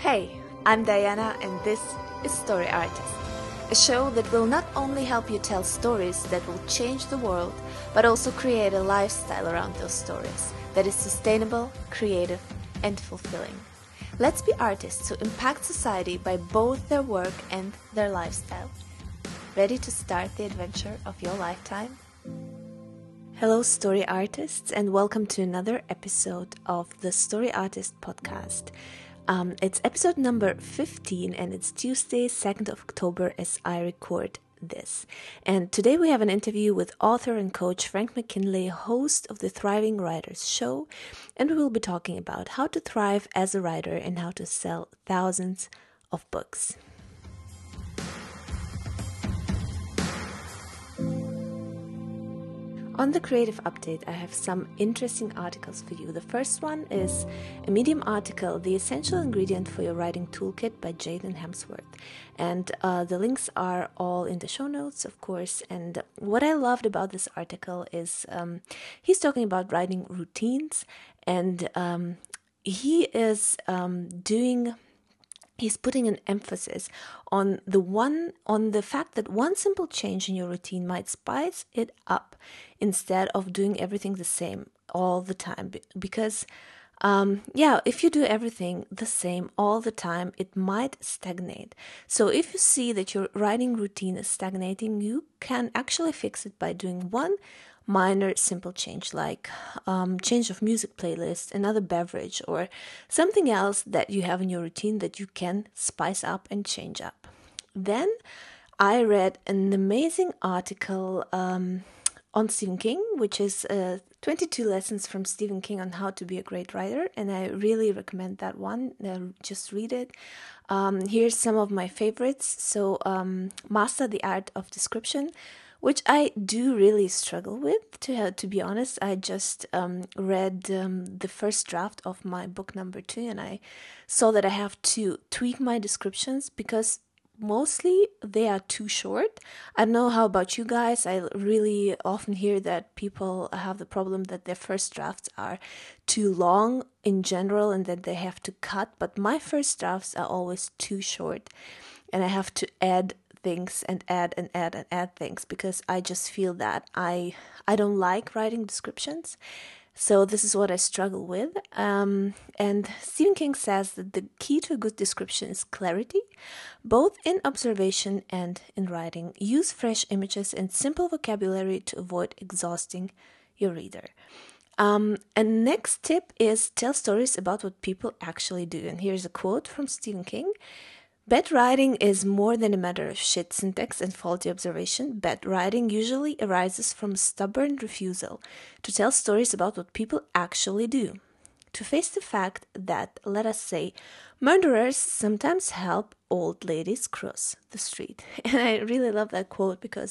Hey, I'm Diana and this is Story Artist, a show that will not only help you tell stories that will change the world, but also create a lifestyle around those stories that is sustainable, creative, and fulfilling. Let's be artists who impact society by both their work and their lifestyle. Ready to start the adventure of your lifetime? Hello, story artists, and welcome to another episode of the Story Artist podcast. It's episode number 15, and it's Tuesday, 2nd of October, as I record this. And today we have an interview with author and coach Frank McKinley, host of the Thriving Writers Show, and we will be talking about how to thrive as a writer and how to sell thousands of books. On the Creative Update, I have some interesting articles for you. The first one is a Medium article, The Essential Ingredient for Your Writing Toolkit by Jaden Hemsworth. And the links are all in the show notes, of course. And what I loved about this article is he's talking about writing routines, and he is he's putting an emphasis on the fact that one simple change in your routine might spice it up instead of doing everything the same all the time. Because, if you do everything the same all the time, it might stagnate. So if you see that your writing routine is stagnating, you can actually fix it by doing one minor simple change, like change of music playlist, another beverage, or something else that you have in your routine that you can spice up and change up. Then I read an amazing article on Stephen King, which is 22 lessons from Stephen King on how to be a great writer, and I really recommend that one. Just read it. Here's some of my favorites. So Master the Art of Description, which I do really struggle with, to be honest. I just read the first draft of my book number 2, and I saw that I have to tweak my descriptions because mostly they are too short. I don't know how about you guys. I really often hear that people have the problem that their first drafts are too long in general and that they have to cut, but my first drafts are always too short, and I have to add things and add things because I just feel that I don't like writing descriptions. So this is what I struggle with. And Stephen King says that the key to a good description is clarity, both in observation and in writing. Use fresh images and simple vocabulary to avoid exhausting your reader. And next tip is tell stories about what people actually do. And here's a quote from Stephen King. Bad writing is more than a matter of shit syntax and faulty observation. Bad writing usually arises from stubborn refusal to tell stories about what people actually do. To face the fact that, let us say, murderers sometimes help old ladies cross the street. And I really love that quote because,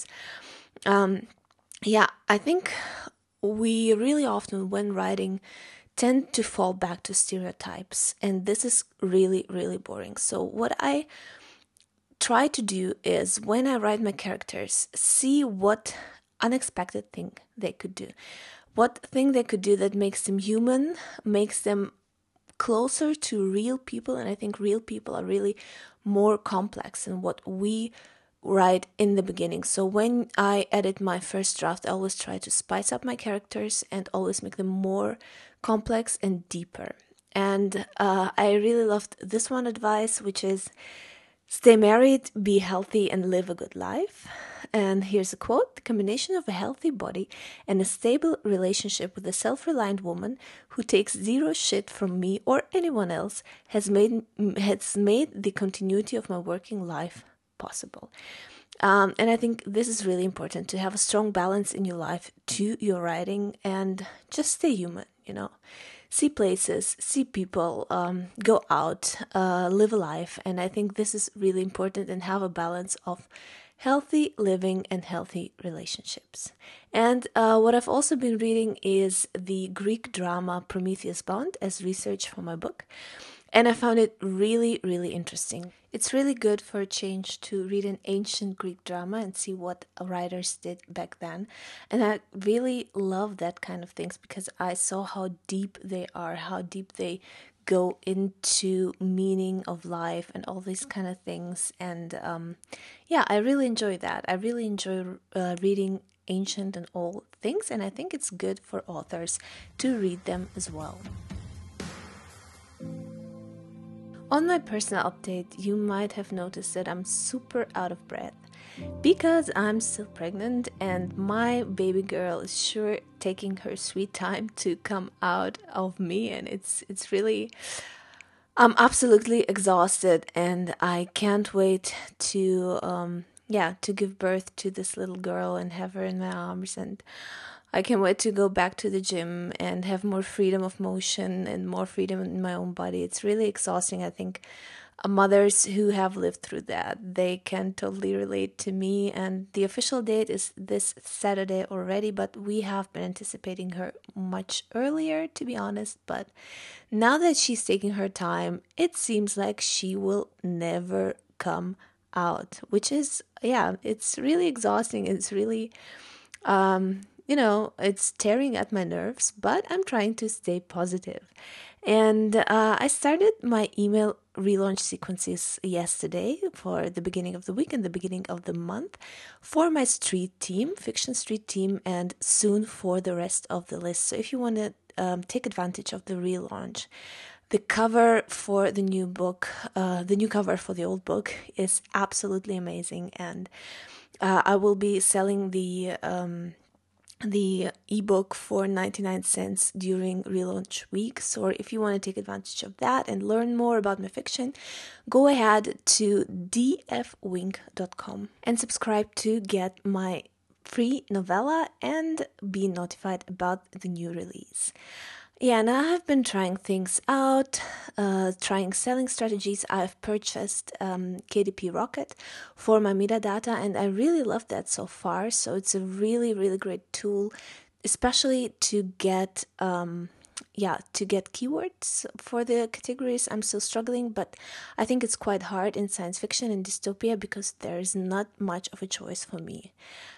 I think we really often, when writing, tend to fall back to stereotypes, and this is really, really boring. So what I try to do is, when I write my characters, see what unexpected thing they could do, what thing they could do that makes them human, makes them closer to real people. And I think real people are really more complex than what we write in the beginning. So when I edit my first draft, I always try to spice up my characters and always make them more complex and deeper. And I really loved this one advice, which is stay married, be healthy, and live a good life. And here's a quote. The combination of a healthy body and a stable relationship with a self-reliant woman who takes zero shit from me or anyone else has made the continuity of my working life possible. And I think this is really important, to have a strong balance in your life to your writing and just stay human, see places, see people, go out, live a life. And I think this is really important, and have a balance of healthy living and healthy relationships. And what I've also been reading is the Greek drama Prometheus Bound as research for my book. And I found it really, really interesting. It's really good for a change to read an ancient Greek drama and see what writers did back then. And I really love that kind of things because I saw how deep they are, how deep they go into meaning of life and all these kind of things. And yeah, I really enjoy that. I really enjoy reading ancient and old things, and I think it's good for authors to read them as well. On my personal update, you might have noticed that I'm super out of breath because I'm still pregnant and my baby girl is sure taking her sweet time to come out of me, and it's really I'm absolutely exhausted and I can't wait to to give birth to this little girl and have her in my arms, and I can't wait to go back to the gym and have more freedom of motion and more freedom in my own body. It's really exhausting. I think mothers who have lived through that, they can totally relate to me. And the official date is this Saturday already, but we have been anticipating her much earlier, to be honest. But now that she's taking her time, it seems like she will never come out, which is, yeah, it's really exhausting. It's really it's tearing at my nerves, but I'm trying to stay positive. And I started my email relaunch sequences yesterday for the beginning of the week and the beginning of the month for my street team, Fiction Street team, and soon for the rest of the list. So if you want to take advantage of the relaunch, the cover for the new book, the new cover for the old book is absolutely amazing. And I will be selling the ebook for 99 cents during relaunch week. So if you want to take advantage of that and learn more about my fiction, go ahead to dfwink.com and subscribe to get my free novella and be notified about the new release. Yeah, and I have been trying things out, trying selling strategies. I've purchased KDP Rocket for my metadata, and I really love that so far. So it's a really, really great tool, especially to get keywords for the categories. I'm still struggling, but I think it's quite hard in science fiction and dystopia because there's not much of a choice for me.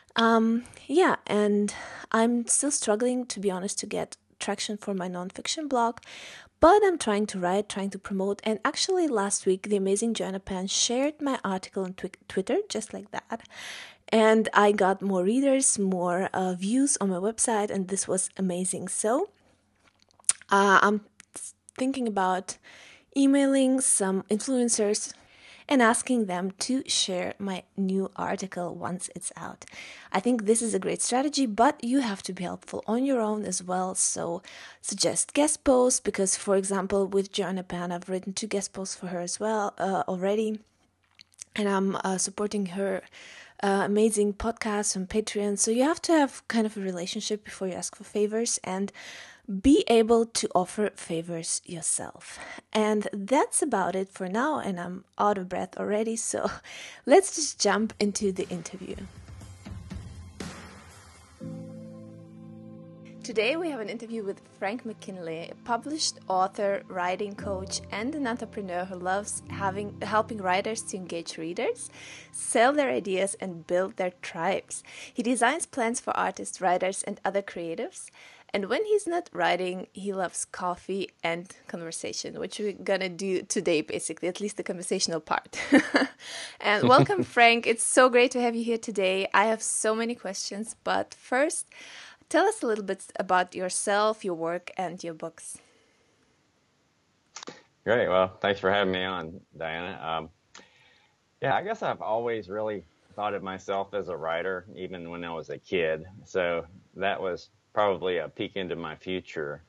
And I'm still struggling, to be honest, to get traction for my nonfiction blog, but I'm trying to write, trying to promote. And actually last week, the amazing Joanna Pan shared my article on Twitter, just like that. And I got more readers, more views on my website, and this was amazing. So I'm thinking about emailing some influencers and asking them to share my new article once it's out. I think this is a great strategy, but you have to be helpful on your own as well. So suggest guest posts because, for example, with Joanna Pan, I've written 2 guest posts for her as well already. And I'm supporting her amazing podcast on Patreon. So you have to have kind of a relationship before you ask for favors and be able to offer favors yourself. And that's about it for now, and I'm out of breath already, so let's just jump into the interview. Today we have an interview with Frank McKinley, a published author, writing coach, and an entrepreneur who loves helping writers to engage readers, sell their ideas, and build their tribes. He designs plans for artists, writers, and other creatives. And when he's not writing, he loves coffee and conversation, which we're going to do today, basically, at least the conversational part. And welcome, Frank. It's so great to have you here today. I have so many questions, but first, tell us a little bit about yourself, your work, and your books. Great. Well, thanks for having me on, Diana. I guess I've always really thought of myself as a writer, even when I was a kid. So that was probably a peek into my future.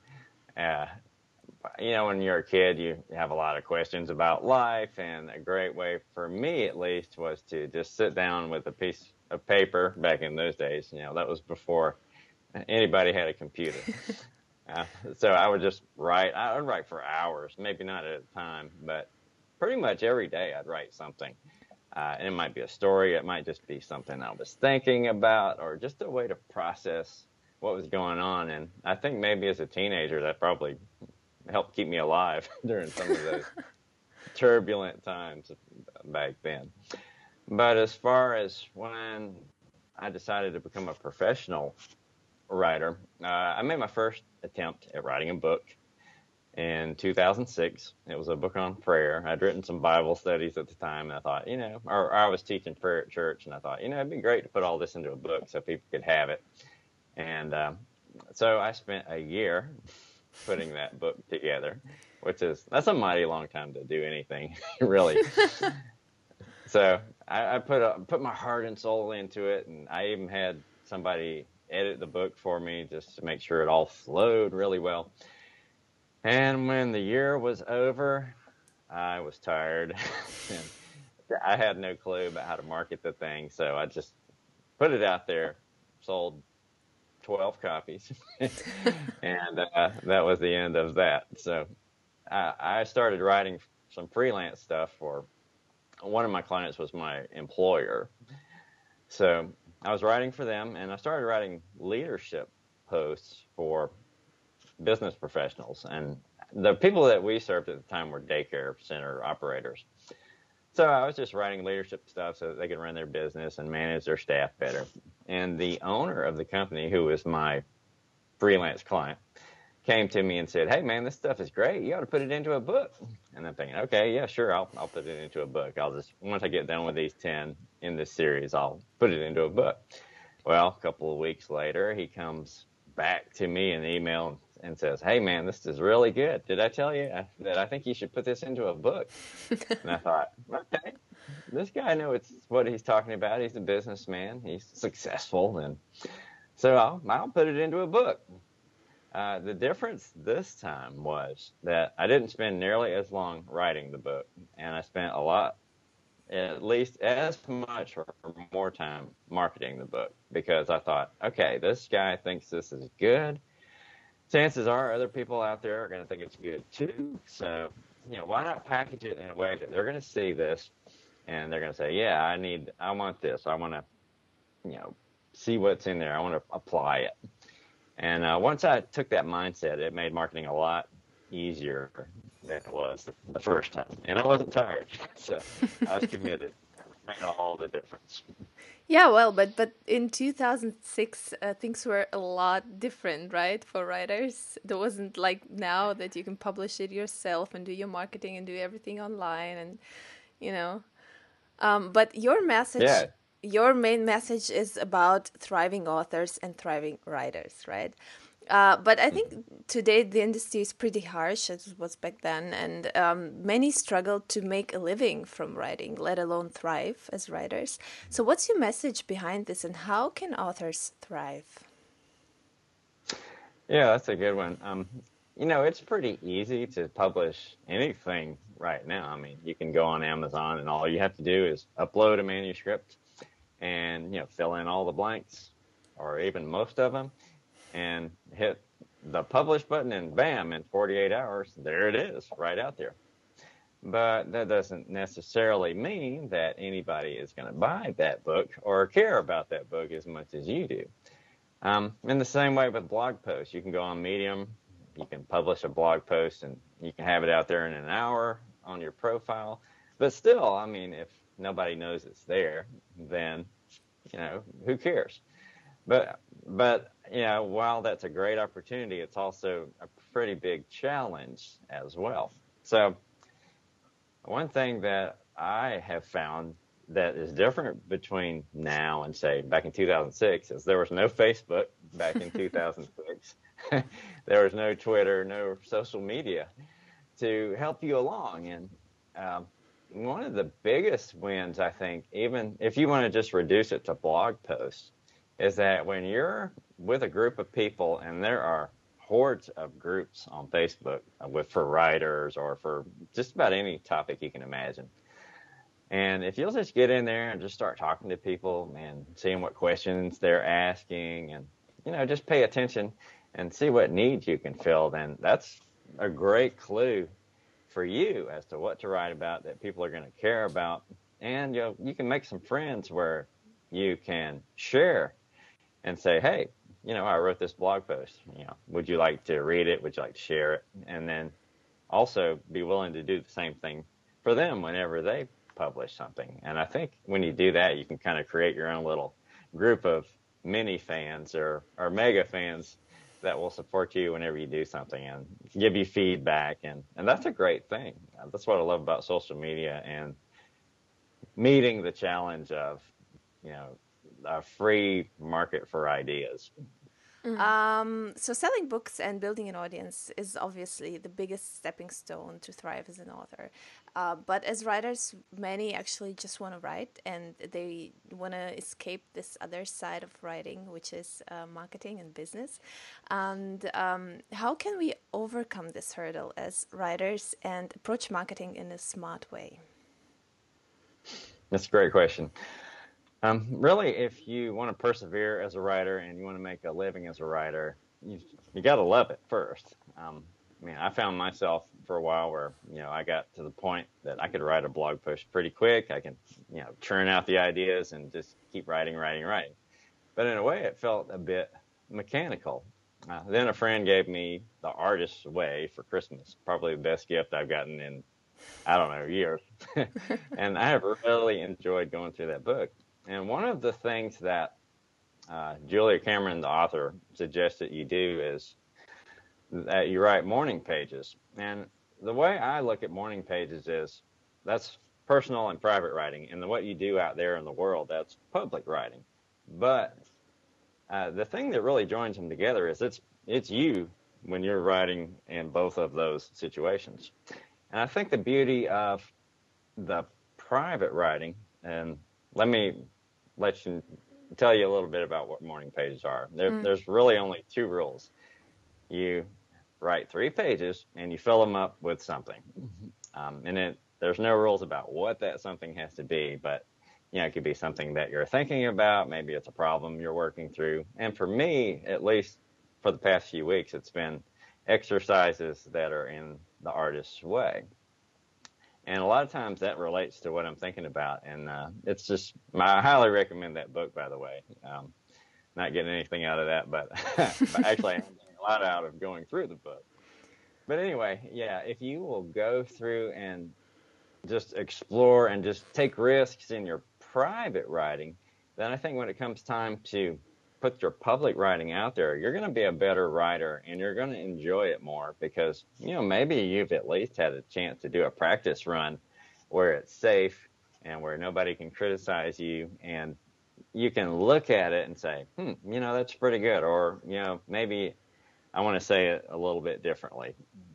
When you're a kid, you have a lot of questions about life, and a great way for me, at least, was to just sit down with a piece of paper back in those days. That was before anybody had a computer. So I would just write. I would write for hours, maybe not at a time, but pretty much every day I'd write something. And it might be a story. It might just be something I was thinking about, or just a way to process what was going on. And I think maybe as a teenager, that probably helped keep me alive during some of those turbulent times back then. But as far as when I decided to become a professional writer, I made my first attempt at writing a book in 2006. It was a book on prayer. I'd written some Bible studies at the time, and I thought, or I was teaching prayer at church, and I thought, it'd be great to put all this into a book so people could have it. And so I spent a year putting that book together, that's a mighty long time to do anything, really. So I put my heart and soul into it, and I even had somebody edit the book for me just to make sure it all flowed really well. And when the year was over, I was tired. And I had no clue about how to market the thing, so I just put it out there, sold 12 copies, and that was the end of that. So I started writing some freelance stuff for one of my clients was my employer. So I was writing for them, and I started writing leadership posts for business professionals. And the people that we served at the time were daycare center operators. So I was just writing leadership stuff so that they could run their business and manage their staff better. And the owner of the company, who was my freelance client, came to me and said, "Hey, man, this stuff is great. You ought to put it into a book." And I'm thinking, okay, yeah, sure, I'll put it into a book. Once I get done with these 10 in this series, I'll put it into a book. Well, a couple of weeks later, he comes back to me in email and says, "Hey, man, this is really good. Did I tell you that I think you should put this into a book?" And I thought, okay, this guy knows what he's talking about. He's a businessman. He's successful. And so I'll put it into a book. The difference this time was that I didn't spend nearly as long writing the book, and I spent at least as much or more time marketing the book, because I thought, okay, this guy thinks this is good. Chances are other people out there are going to think it's good too. So, why not package it in a way that they're going to see this and they're going to say, yeah, I want this. I want to, see what's in there. I want to apply it. And once I took that mindset, it made marketing a lot easier than it was the first time. And I wasn't tired, so I was committed. It made all the difference. Yeah, well, but in 2006, things were a lot different, right, for writers. There wasn't like now that you can publish it yourself and do your marketing and do everything online, and you know. But Yeah, your main message is about thriving authors and thriving writers, right? But I think today the industry is pretty harsh, as it was back then, and many struggle to make a living from writing, let alone thrive as writers. So, what's your message behind this, and how can authors thrive? yeah, that's a good one. It's pretty easy to publish anything right now. I mean, you can go on Amazon, and all you have to do is upload a manuscript and fill in all the blanks, or even most of them, and hit the publish button, and bam, in 48 hours, there it is, right out there. But that doesn't necessarily mean that anybody is going to buy that book or care about that book as much as you do. In the same way with blog posts, you can go on Medium, you can publish a blog post, and you can have it out there in an hour on your profile. But still, I mean, if nobody knows it's there, then, who cares? But while that's a great opportunity, it's also a pretty big challenge as well. So one thing that I have found that is different between now and, say, back in 2006 is there was no Facebook back in 2006. There was no Twitter, no social media to help you along. And one of the biggest wins, I think, even if you want to just reduce it to blog posts, is that when you're with a group of people, and there are hordes of groups on Facebook for writers or for just about any topic you can imagine. And if you'll just get in there and just start talking to people and seeing what questions they're asking, and, just pay attention and see what needs you can fill, then that's a great clue for you as to what to write about that people are going to care about. And you can make some friends where you can share and say, hey, I wrote this blog post. Would you like to read it? Would you like to share it? And then also be willing to do the same thing for them whenever they publish something. And I think when you do that, you can kind of create your own little group of mini fans or mega fans that will support you whenever you do something and give you feedback, and that's a great thing. That's what I love about social media and meeting the challenge of, you know, a free market for ideas. So selling books and building an audience is obviously the biggest stepping stone to thrive as an author. But as writers, many actually just want to write and they want to escape this other side of writing, which is marketing and business. And how can we overcome this hurdle as writers and approach marketing in a smart way? That's a great question. Really, if you want to persevere as a writer and you want to make a living as a writer, you got to love it first. I mean, I found myself for a while where, you know, I got to the point that I could write a blog post pretty quick. I can, you know, churn out the ideas and just keep writing, writing, writing. But in a way, it felt a bit mechanical. Then a friend gave me The Artist's Way for Christmas, probably the best gift I've gotten in, I don't know, years. And I have really enjoyed going through that book. And one of the things that Julia Cameron, the author, suggests that you do is that you write morning pages. And the way I look at morning pages is that's personal and private writing. And what you do out there in the world, that's public writing. But the thing that really joins them together is it's you when you're writing in both of those situations. And I think the beauty of the private writing, and let me tell you a little bit about what morning pages are. There's really only two rules. You write 3 pages and you fill them up with something. There's no rules about what that something has to be, but you know, it could be something that you're thinking about. Maybe it's a problem you're working through. And for me, at least for the past few weeks, it's been exercises that are in the artist's way. And a lot of times that relates to what I'm thinking about. And it's just, I highly recommend that book, by the way. Not getting anything out of that, but, but actually I'm getting a lot out of going through the book. But anyway, yeah, if you will go through and just explore and just take risks in your private writing, then I think when it comes time to put your public writing out there, you're going to be a better writer and you're going to enjoy it more because, you know, maybe you've at least had a chance to do a practice run where it's safe and where nobody can criticize you and you can look at it and say, you know, that's pretty good. Or, you know, maybe I want to say it a little bit differently.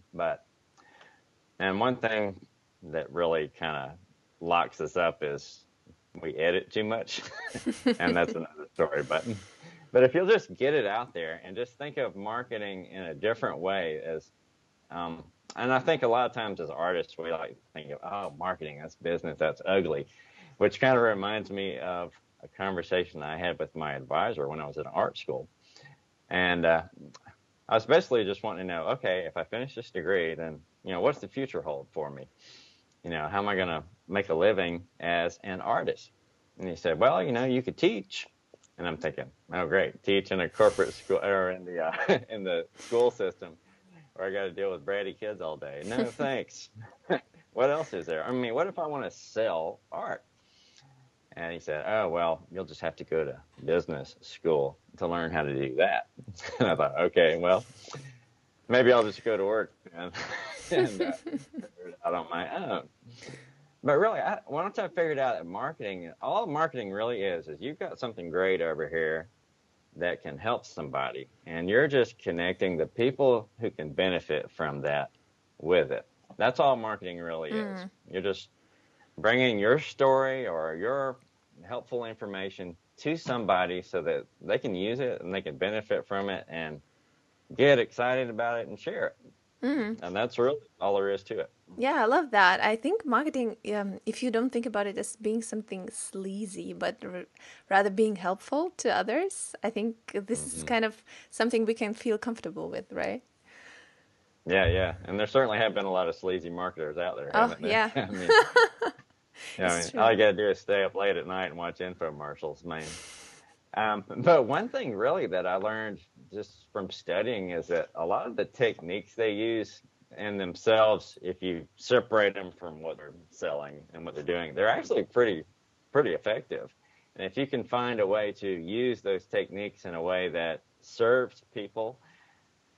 And one thing that really kind of locks us up is we edit too much. And that's another story. But if you'll just get it out there and just think of marketing in a different way as, and I think a lot of times as artists, we like to think of, oh, marketing, that's business, that's ugly, which kind of reminds me of a conversation I had with my advisor when I was in art school. And I was basically just wanting to know, okay, if I finish this degree, then, you know, what's the future hold for me? You know, how am I going to make a living as an artist? And he said, well, you know, you could teach. And I'm thinking, oh, great, teach in a corporate school or in the school system where I got to deal with bratty kids all day. No, thanks. What else is there? I mean, what if I want to sell art? And he said, oh, well, you'll just have to go to business school to learn how to do that. And I thought, okay, well, maybe I'll just go to work and figure it out on my own. But really, once I figured out that marketing, all marketing really is you've got something great over here that can help somebody, and you're just connecting the people who can benefit from that with it. That's all marketing really is. You're just bringing your story or your helpful information to somebody so that they can use it and they can benefit from it and get excited about it and share it. And that's really all there is to it. Yeah, I love that. I think marketing, if you don't think about it as being something sleazy, but rather being helpful to others, I think this is kind of something we can feel comfortable with, right? Yeah. And there certainly have been a lot of sleazy marketers out there, haven't there? Yeah. All you got to do is stay up late at night and watch infomercials, man. But one thing really that I learned just from studying is that a lot of the techniques they use in themselves, if you separate them from what they're selling and what they're doing, they're actually pretty effective. And if you can find a way to use those techniques in a way that serves people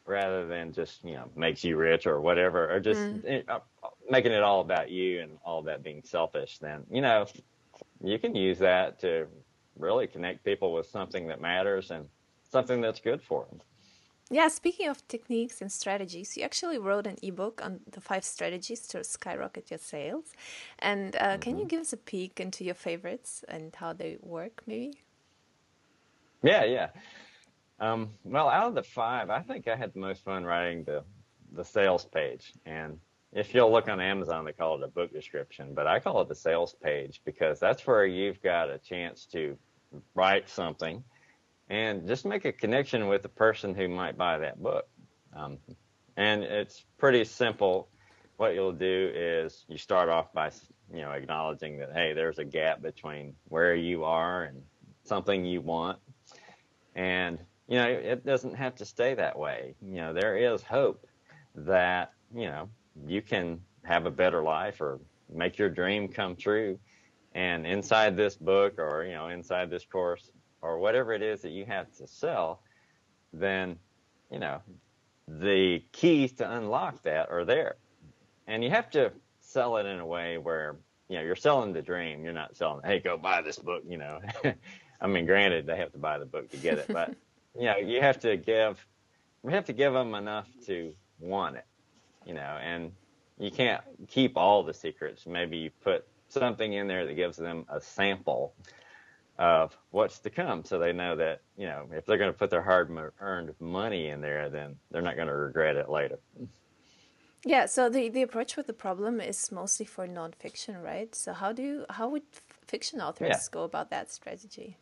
rather than just, makes you rich or whatever, or just making it all about you and all about being selfish, then, you can use that to really connect people with something that matters and something that's good for them. Yeah, speaking of techniques and strategies, you actually wrote an ebook on the 5 strategies to skyrocket your sales. And can you give us a peek into your favorites and how they work, maybe? Yeah. Well, out of the 5, I think I had the most fun writing the sales page. And if you'll look on Amazon, they call it a book description, but I call it the sales page because that's where you've got a chance to write something and just make a connection with the person who might buy that book. And it's pretty simple. What you'll do is you start off by, acknowledging that, hey, there's a gap between where you are and something you want. And, it doesn't have to stay that way. There is hope that, you can have a better life or make your dream come true. And inside this book or, inside this course or whatever it is that you have to sell, then, the keys to unlock that are there. And you have to sell it in a way where, you're selling the dream. You're not selling, hey, go buy this book, I mean, granted, they have to buy the book to get it, but, you have to give them enough to want it, and you can't keep all the secrets. Maybe you put something in there that gives them a sample of what's to come, so they know that, if they're going to put their hard-earned money in there, then they're not going to regret it later. Yeah, so the approach with the problem is mostly for nonfiction, right? So how would fiction authors go about that strategy?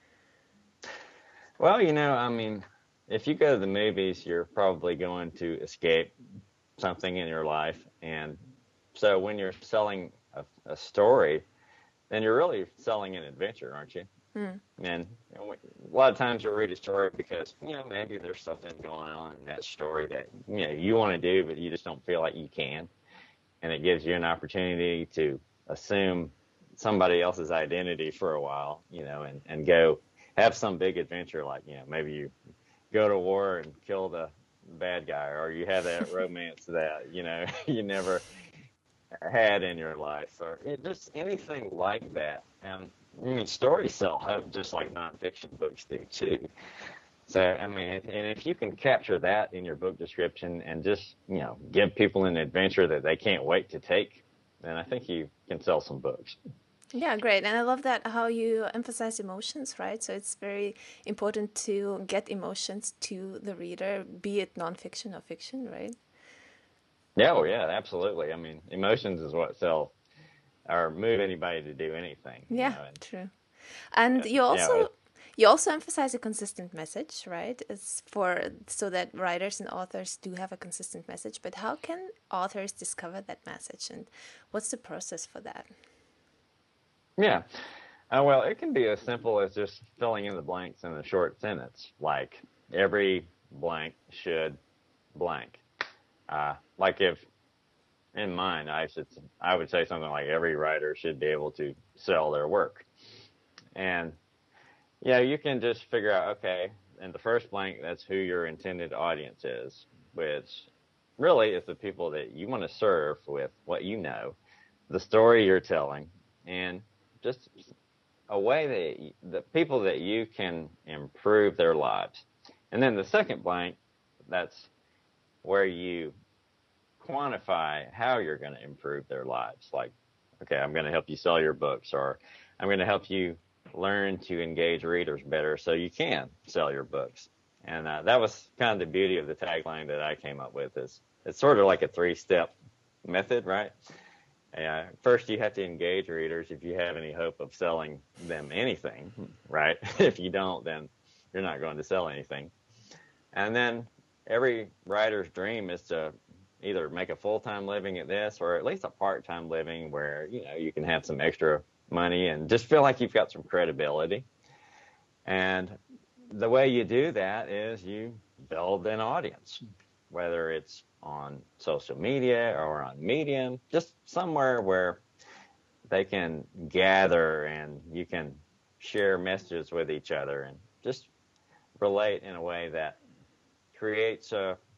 Well, I mean, if you go to the movies, you're probably going to escape something in your life. And so when you're selling a story, then you're really selling an adventure, aren't you? And a lot of times you'll read a story because, maybe there's something going on in that story that, you want to do, but you just don't feel like you can. And it gives you an opportunity to assume somebody else's identity for a while, and go have some big adventure, like, maybe you go to war and kill the bad guy, or you have that romance that, you never had in your life, or just anything like that. And stories sell hope just like nonfiction books do too. So, I mean, and if you can capture that in your book description and just, give people an adventure that they can't wait to take, then I think you can sell some books. Yeah, great. And I love that how you emphasize emotions, right? So it's very important to get emotions to the reader, be it nonfiction or fiction, right? Yeah, well, yeah, absolutely. I mean, emotions is what sells or move anybody to do anything. Yeah, true. And you also emphasize a consistent message, right? It's so that writers and authors do have a consistent message. But how can authors discover that message, and what's the process for that? Yeah. Well, it can be as simple as just filling in the blanks in a short sentence, like every blank should blank. Like if in mine, I would say something like every writer should be able to sell their work. And you can just figure out, okay, in the first blank, that's who your intended audience is, which really is the people that you want to serve with what you know, the story you're telling, and just a way that the people that you can improve their lives. And then the second blank, that's where you quantify how you're going to improve their lives. Like, okay, I'm going to help you sell your books, or I'm going to help you learn to engage readers better so you can sell your books. And that was kind of the beauty of the tagline that I came up with. Is it's sort of like a 3-step method, right? First, you have to engage readers if you have any hope of selling them anything, right? If you don't, then you're not going to sell anything. And then every writer's dream is to either make a full-time living at this, or at least a part-time living where, you can have some extra money and just feel like you've got some credibility. And the way you do that is you build an audience, whether it's on social media or on Medium, just somewhere where they can gather and you can share messages with each other and just relate in a way that creates a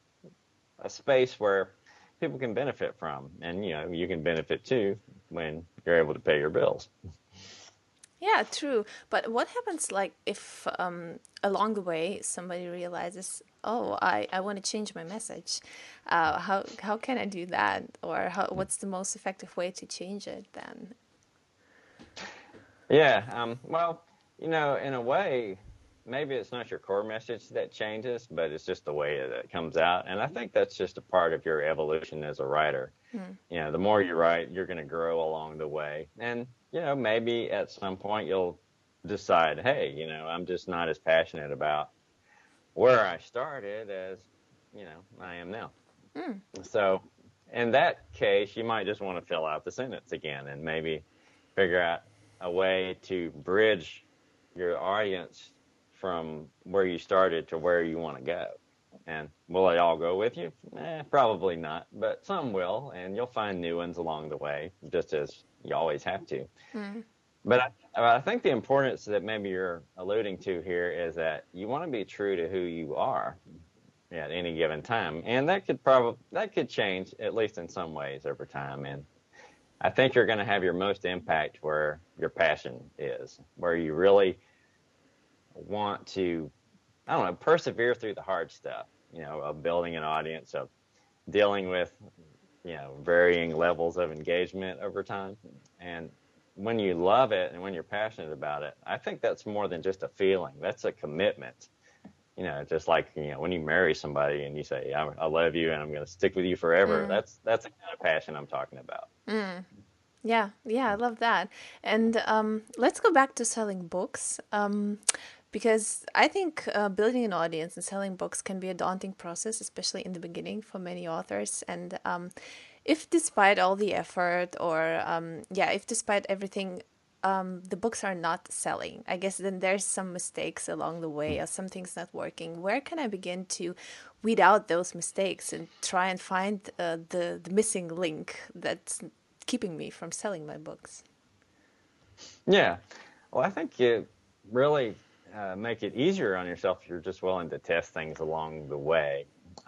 a space where people can benefit from, and you can benefit too when you're able to pay your bills. Yeah, true. But what happens like if along the way somebody realizes, oh, I want to change my message? How can I do that? Or what's the most effective way to change it then? Yeah, well, in a way, maybe it's not your core message that changes, but it's just the way that it comes out. And I think that's just a part of your evolution as a writer. The more you write, you're going to grow along the way. And, maybe at some point you'll decide, hey, I'm just not as passionate about where I started as, I am now. So in that case, you might just want to fill out the sentence again and maybe figure out a way to bridge your audience from where you started to where you want to go. And will they all go with you? Probably not, but some will, and you'll find new ones along the way, just as you always have to. But I think the importance that maybe you're alluding to here is that you want to be true to who you are at any given time, and that could change, at least in some ways, over time. And I think you're going to have your most impact where your passion is, where you really want to, I don't know, persevere through the hard stuff, of building an audience, of dealing with, varying levels of engagement over time. And when you love it and when you're passionate about it, I think that's more than just a feeling. That's a commitment. Just like, when you marry somebody and you say, I love you and I'm going to stick with you forever. That's the kind of passion I'm talking about. Yeah, I love that. And let's go back to selling books. Because I think building an audience and selling books can be a daunting process, especially in the beginning for many authors. And if despite all the effort or, if despite everything, the books are not selling, I guess then there's some mistakes along the way or something's not working. Where can I begin to weed out those mistakes and try and find the missing link that's keeping me from selling my books? Yeah. Well, I think you really make it easier on yourself if you're just willing to test things along the way.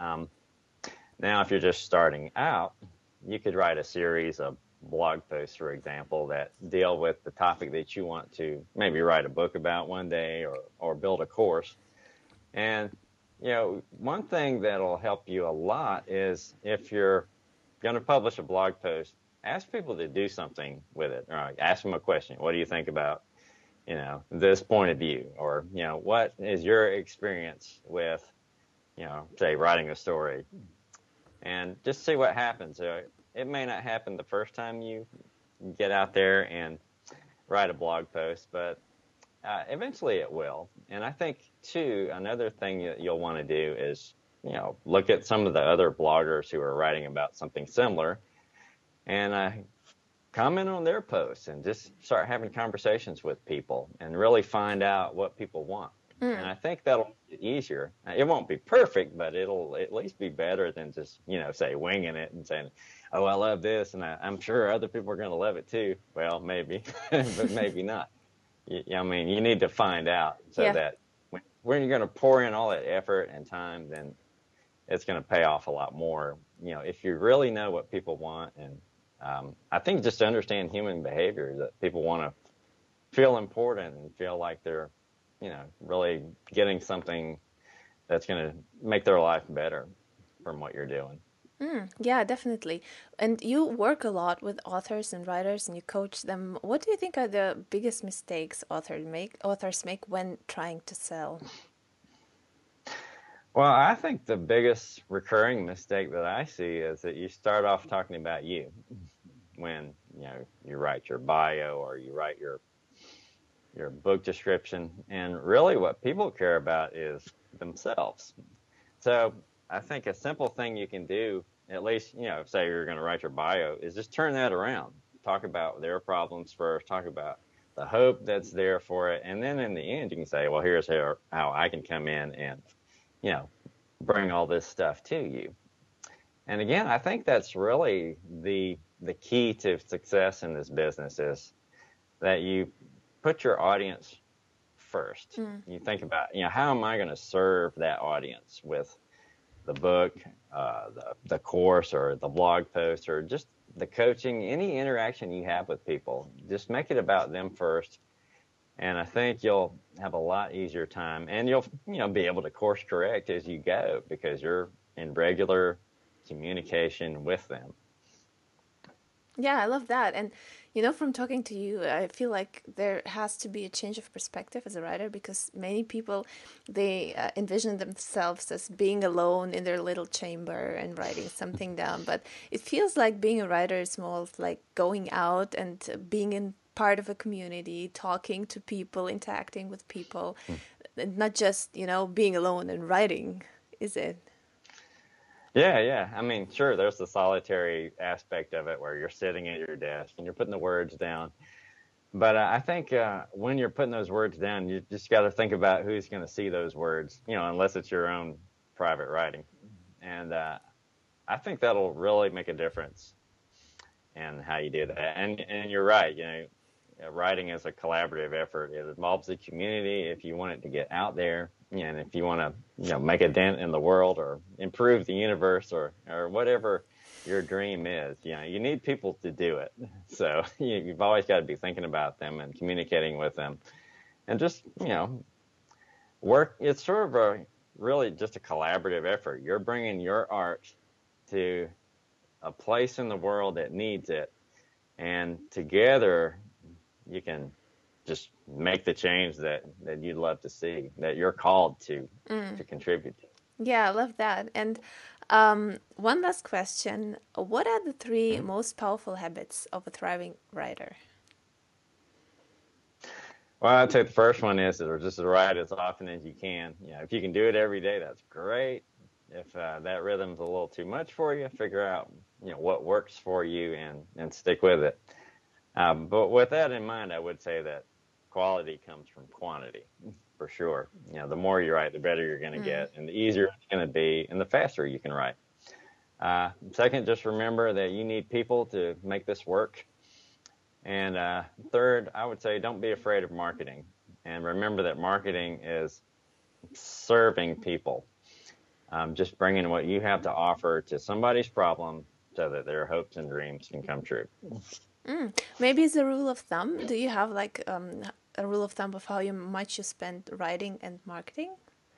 Now, if you're just starting out, you could write a series of blog posts, for example, that deal with the topic that you want to maybe write a book about one day or build a course. And, one thing that'll help you a lot is if you're going to publish a blog post, ask people to do something with it. Or ask them a question. What do you think about this point of view? Or, what is your experience with, say, writing a story? And just see what happens. It may not happen the first time you get out there and write a blog post, but eventually it will. And I think, too, another thing that you'll want to do is, look at some of the other bloggers who are writing about something similar and comment on their posts and just start having conversations with people and really find out what people want. And I think that'll make it easier. It won't be perfect, but it'll at least be better than just, say, winging it and saying, oh, I love this, and I'm sure other people are going to love it too. Well, maybe, but maybe not. You need to find out so that when you're going to pour in all that effort and time, then it's going to pay off a lot more. If you really know what people want, and I think just to understand human behavior, that people want to feel important and feel like they're really getting something that's going to make their life better from what you're doing. Yeah, definitely. And you work a lot with authors and writers and you coach them. What do you think are the biggest mistakes authors make when trying to sell? Well, I think the biggest recurring mistake that I see is that you start off talking about you when, you write your bio or you write your book description, and really what people care about is themselves. So I think a simple thing you can do, at least, say you're going to write your bio, is just turn that around. Talk about their problems first, talk about the hope that's there for it, and then in the end you can say, well, here's how I can come in and, bring all this stuff to you. And again, I think that's really the key to success in this business, is that you put your audience first. You think about, how am I going to serve that audience with the book, the course, or the blog post, or just the coaching, any interaction you have with people, just make it about them first. And I think you'll have a lot easier time, and you'll be able to course correct as you go because you're in regular communication with them. Yeah, I love that. And from talking to you, I feel like there has to be a change of perspective as a writer because many people they envision themselves as being alone in their little chamber and writing something down. But it feels like being a writer is more like going out and being in part of a community, talking to people, interacting with people, and not just being alone and writing, is it? Yeah. I mean, sure, there's the solitary aspect of it where you're sitting at your desk and you're putting the words down. But I think when you're putting those words down, you just got to think about who's going to see those words, unless it's your own private writing. And I think that'll really make a difference in how you do that. And you're right, writing is a collaborative effort. It involves the community if you want it to get out there, and if you want to, make a dent in the world or improve the universe or whatever your dream is. You need people to do it. So you've always got to be thinking about them and communicating with them, and just work. It's sort of really just a collaborative effort. You're bringing your art to a place in the world that needs it, and together you can just make the change that you'd love to see, that you're called to contribute to. Yeah, I love that. And one last question. What are the three most powerful habits of a thriving writer? Well, I'd say the first one is just to write as often as you can. If you can do it every day, that's great. If that rhythm's a little too much for you, figure out what works for you and stick with it. But with that in mind, I would say that quality comes from quantity, for sure. The more you write, the better you're going to get, and the easier it's going to be, and the faster you can write. Second, just remember that you need people to make this work. And third, I would say don't be afraid of marketing. And remember that marketing is serving people, just bringing what you have to offer to somebody's problem so that their hopes and dreams can come true. Maybe it's a rule of thumb. Do you have like a rule of thumb of how much you spend writing and marketing?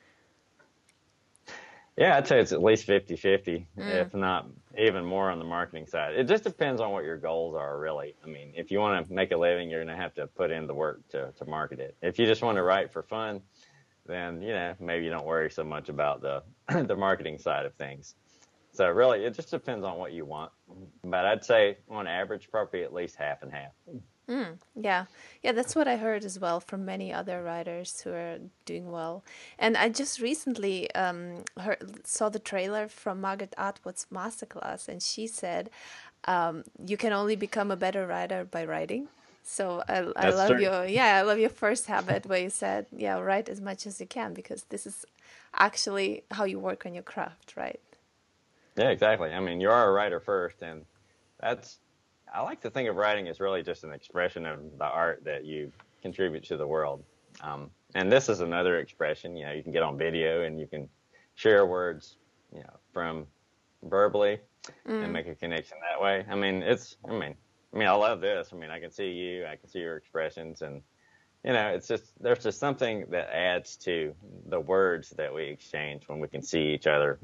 Yeah, I'd say it's at least 50-50, if not even more on the marketing side. It just depends on what your goals are, really. I mean, if you want to make a living, you're going to have to put in the work to market it. If you just want to write for fun, then, maybe you don't worry so much about the marketing side of things. So really, it just depends on what you want. But I'd say on average, probably at least half and half. Yeah, that's what I heard as well from many other writers who are doing well. And I just recently saw the trailer from Margaret Atwood's masterclass, and she said, "You can only become a better writer by writing." So I love I love your first habit where you said, write as much as you can because this is actually how you work on your craft, right? Yeah, exactly. I mean, you are a writer first, and I like to think of writing as really just an expression of the art that you contribute to the world. And this is another expression. You can get on video and you can share words, from verbally and make a connection that way. I mean, I love this. I mean, I can see you, I can see your expressions, and there's just something that adds to the words that we exchange when we can see each other.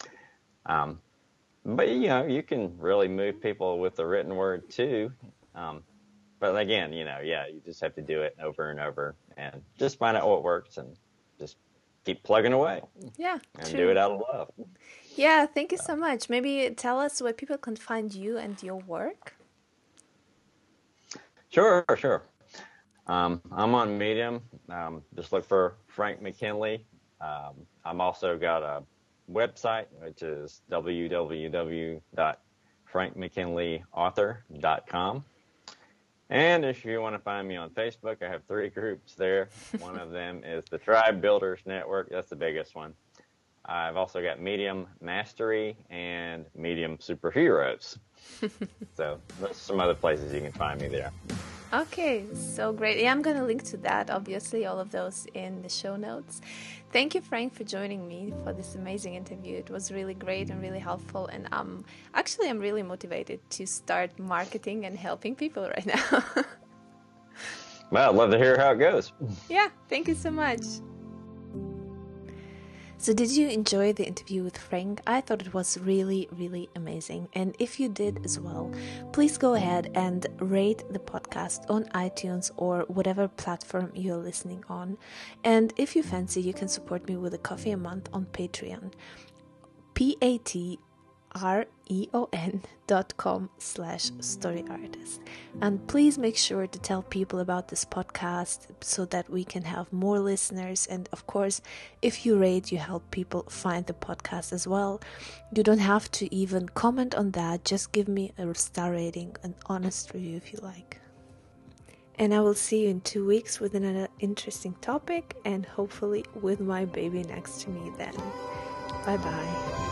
But you can really move people with the written word too. But again, you just have to do it over and over and just find out what works and just keep plugging away. Yeah, and true. do it out of love. Yeah, thank you so much. Maybe tell us where people can find you and your work. Sure. I'm on Medium. Just look for Frank McKinley. I'm also got a website, which is www.frankmckinleyauthor.com. And if you want to find me on Facebook, I have 3 groups there. One of them is the Tribe Builders Network. That's the biggest one. I've also got Medium Mastery and Medium Superheroes. So there's some other places you can find me there. Okay, so great. Yeah, I'm going to link to that, obviously, all of those in the show notes. Thank you, Frank, for joining me for this amazing interview. It was really great and really helpful. And actually, I'm really motivated to start marketing and helping people right now. Well, I'd love to hear how it goes. Yeah, thank you so much. So did you enjoy the interview with Frank? I thought it was really, really amazing. And if you did as well, please go ahead and rate the podcast on iTunes or whatever platform you're listening on. And if you fancy, you can support me with a coffee a month on Patreon. patreon.com/storyartist. And please make sure to tell people about this podcast so that we can have more listeners. And of course, if you rate, you help people find the podcast as well. You don't have to even comment on that. Just give me a star rating, an honest review if you like. And I will see you in 2 weeks with another interesting topic, and hopefully with my baby next to me then. Bye bye.